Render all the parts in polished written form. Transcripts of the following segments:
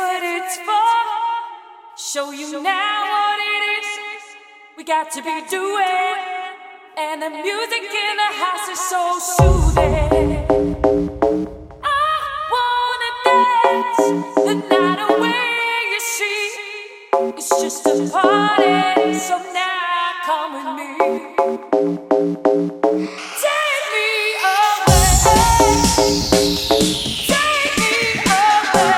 what it's for. Show you now what it is we got to be doing. And the music in the house is so soothing. I wanna dance the night away, you see. It's just a party, so now come with me. Take me away. Take me away.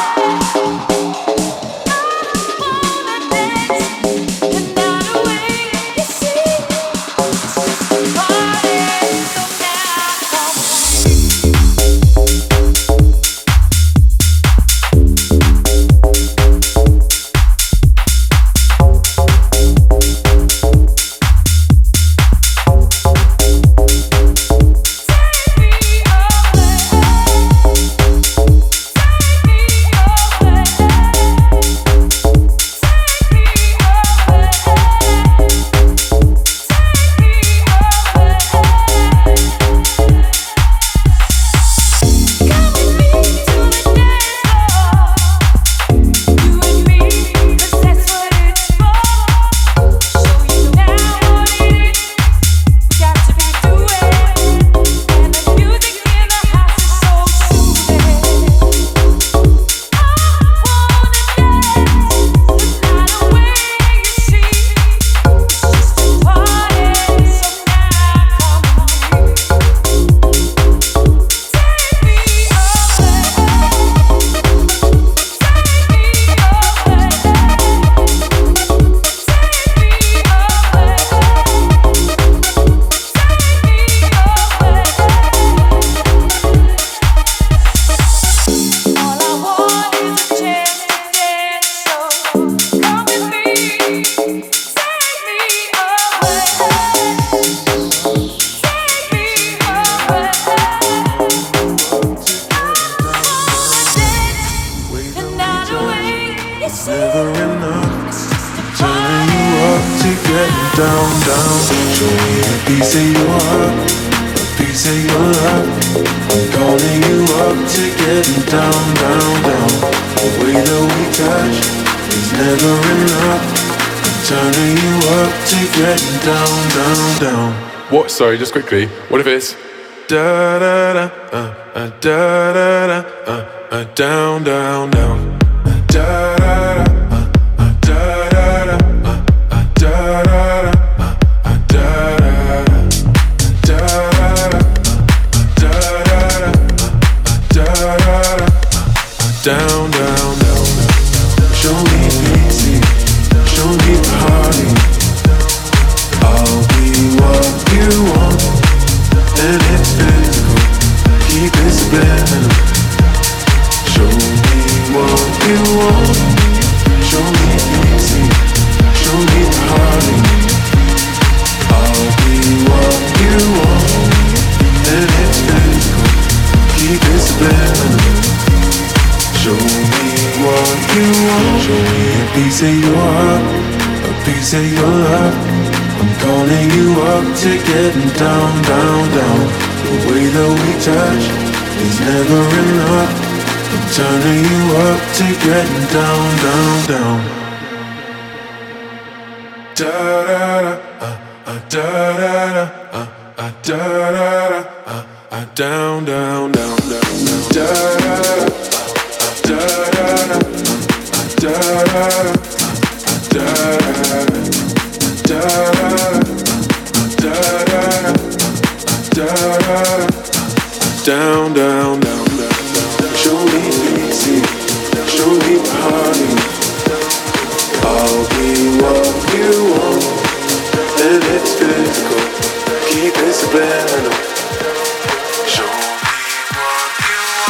I wanna dance the night away, you see. It's just a party, so now come with me. What? Sorry, just quickly. What if it's da da da da da da down down down da da da da da down down down. Show me easy, show me party. I'll be what you want, and it's physical. Keep it subliminal. Show me what you want. Show me easy. Show me party. I'll be what you want, and it's physical. Keep it subliminal. Show me what you want. Show me a piece of your heart, a piece of your love. I'm calling you up to getting down, down, down. The way that we touch is never enough. I'm turning you up to getting down, down, down. Da da da da da da da down, down, down, down, da da da da da down, down, down, down. Show me easy, show me party. I'll be what you want, and it's physical. Keep it subliminal. Show me what you want.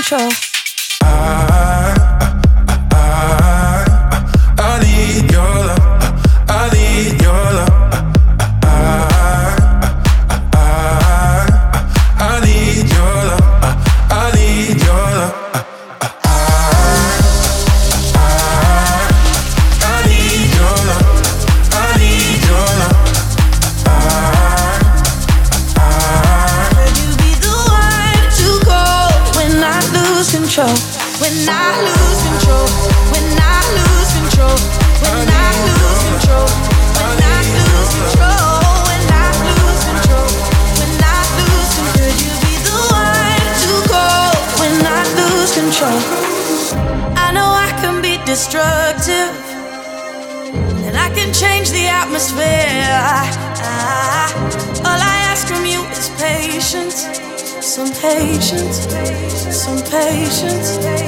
control. I need your love. I need your love. I need your love. I need your love. I need your love. I need your love. Will you be the one to go when I lose control? When I lose control. When I lose control. When I lose control. When I lose control. When I lose control. When I lose control. Could you be the one to go when I lose control? I know I can be destructive, and I can change the atmosphere. All I ask from you is patience, some patience, some patience.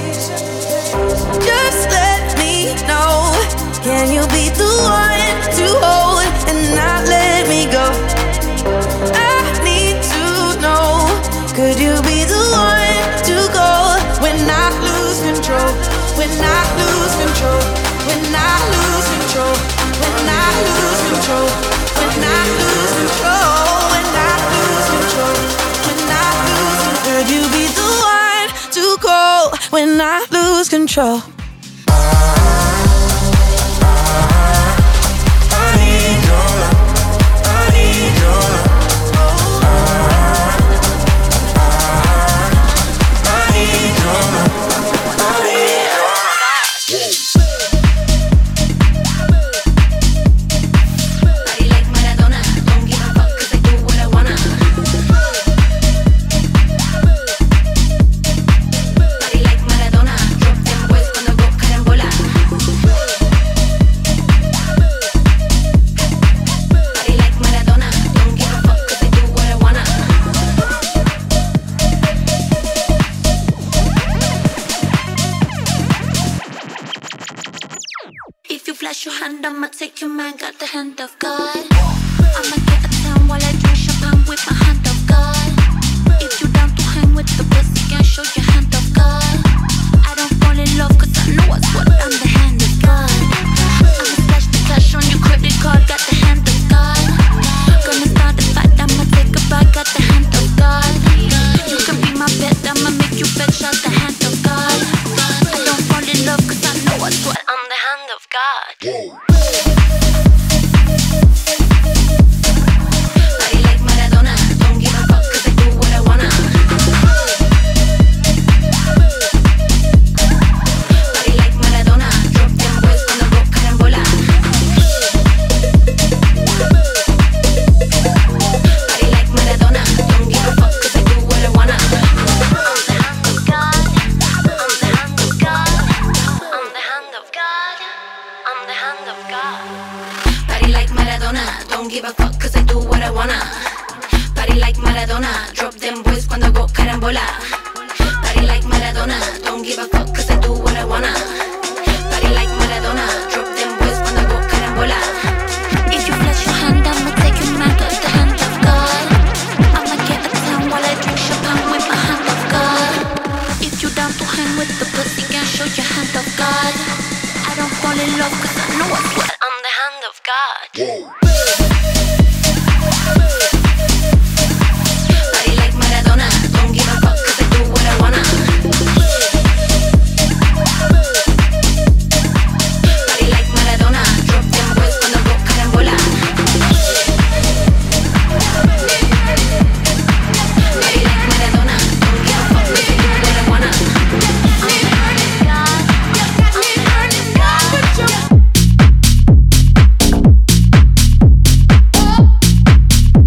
Just let me know, can you be the one to hold and not let me go? I need to know, could you be the one to go when I lose control? When I lose control. When I lose control. When I lose control. When I lose control. When I lose control. When I lose control. Could you be the one to go when I lose control? I need your love. I need your love. I need your love. I need your love. Body like Maradona, don't give a fuck 'cause I do what I wanna. Body like Maradona, drop them boys cuando go carambola. Body like Maradona, don't give a fuck 'cause I do what I wanna. If you flash your hand, I'ma take your man, got the hand of God. I'ma get a town while I drink champagne with my hand of God. If you down to hang with the pussy, can show your hand of God. I don't fall in love 'cause I know what's what, I'm the hand of God. I'ma stash the cash on your credit card, got the hand of God. Gonna start a fight, I'ma take a bite, got the hand of God. You can be my pet, I'ma make you fetch out the hand of God. I don't fall in love 'cause I know what's what, I'm the hand of God. Body like Maradona, don't give a fuck 'cause I do what I wanna. Body like Maradona, drop them boys cuando go carambola. Body like Maradona, don't give a fuck 'cause I do what I wanna. I'm the hand of God. I'm the hand of God. I'm the hand of God. I'm the hand of God. Body like Maradona, don't give a fuck 'cause I do what I wanna. Body like Maradona, drop them boys cuando go carambola. Body like Maradona, don't give a fuck 'cause I do what I wanna. Body like Maradona, drop them boys cuando go carambola. If you flash your hand, I'ma take your man, got the hand of God. I'ma get a town while I drink champagne with my hand of God. If you down to hang with the pussy, can show your hand of God. I don't fall in love 'cause I know what's what, I'm the hand of God. Body like Maradona, don't give a fuck 'cause I do what I wanna. Body like Maradona, drop them boys cuando go carambola. Body like Maradona, don't give a fuck 'cause I do what I wanna. I'm the hand of God. I'm the hand of God.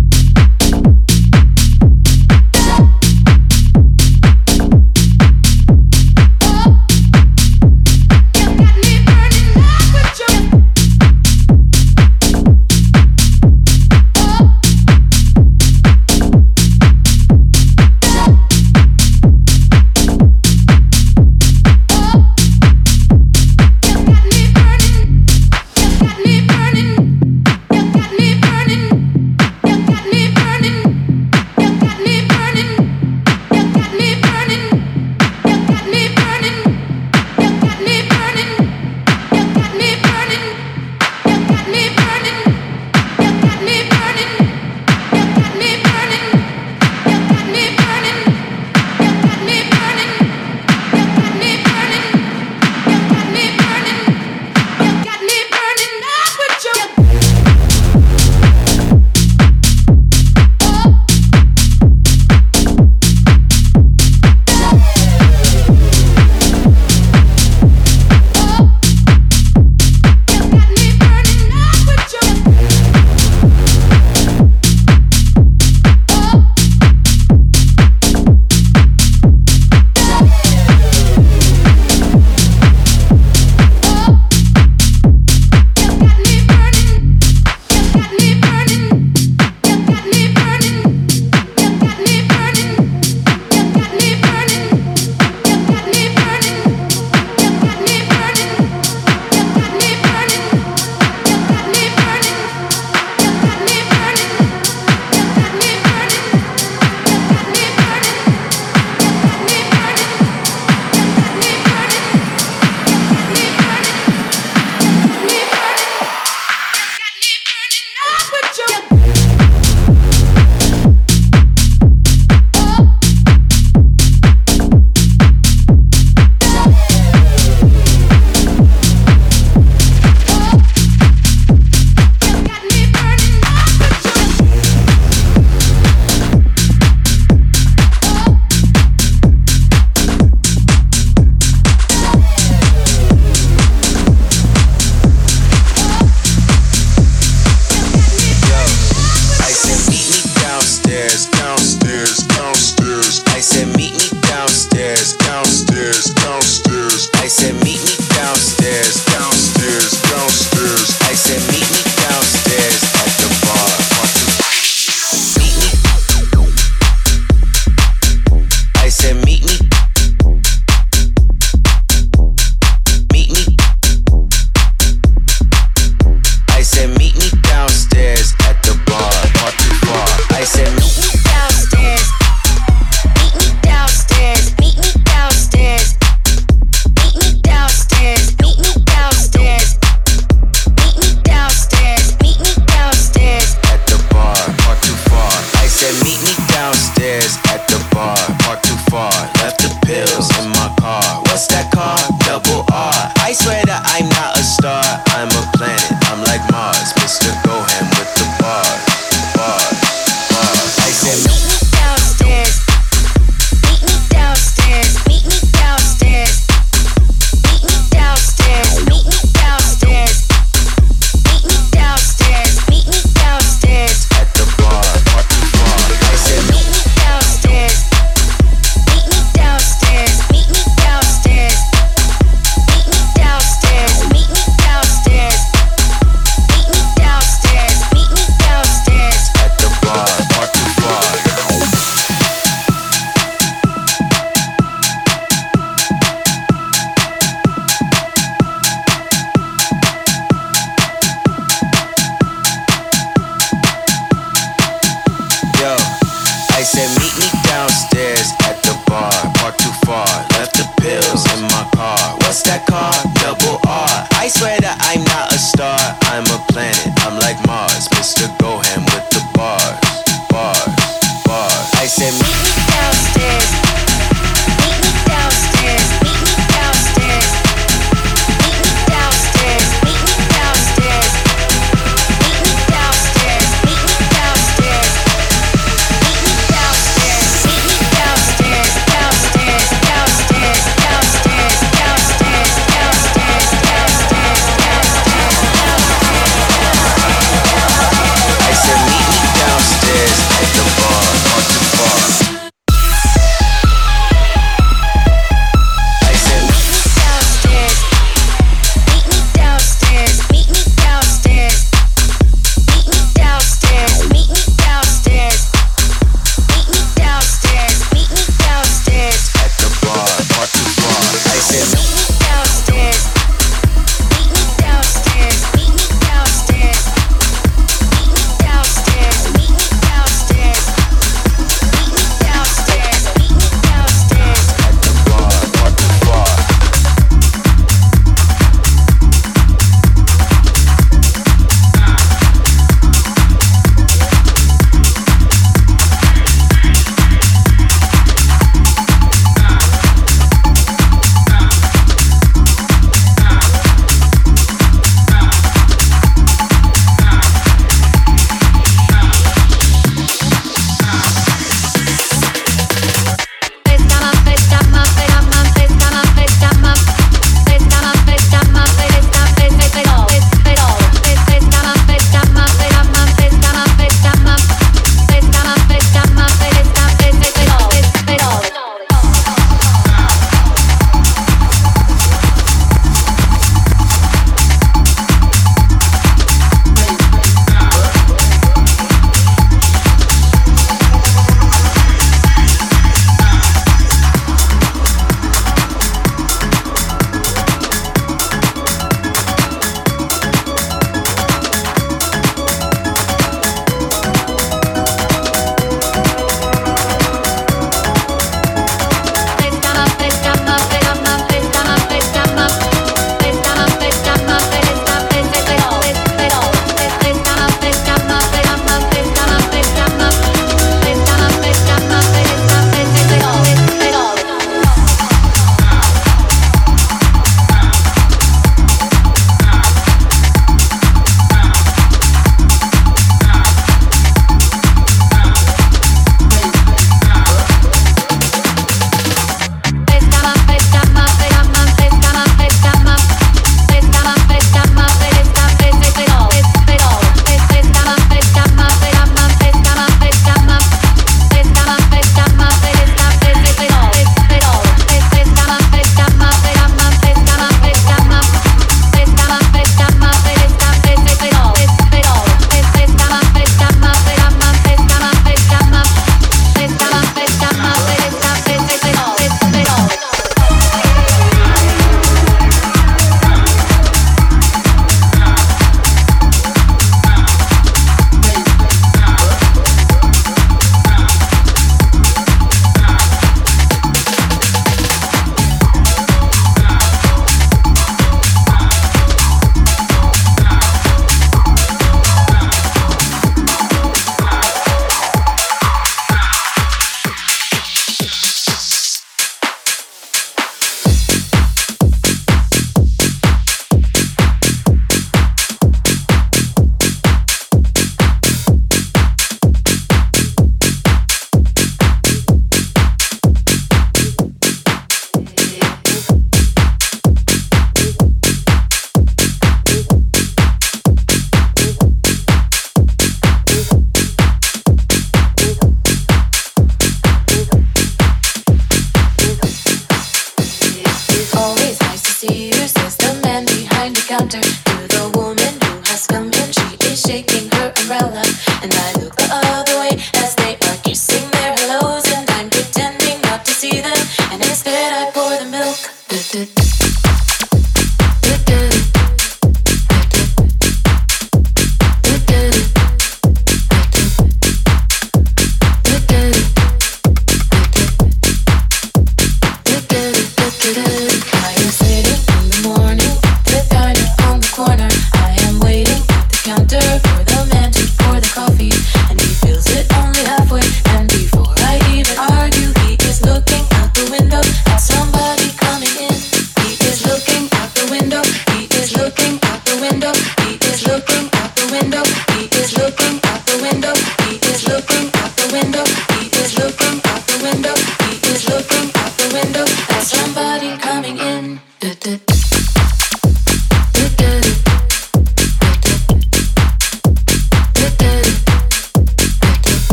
and I look the other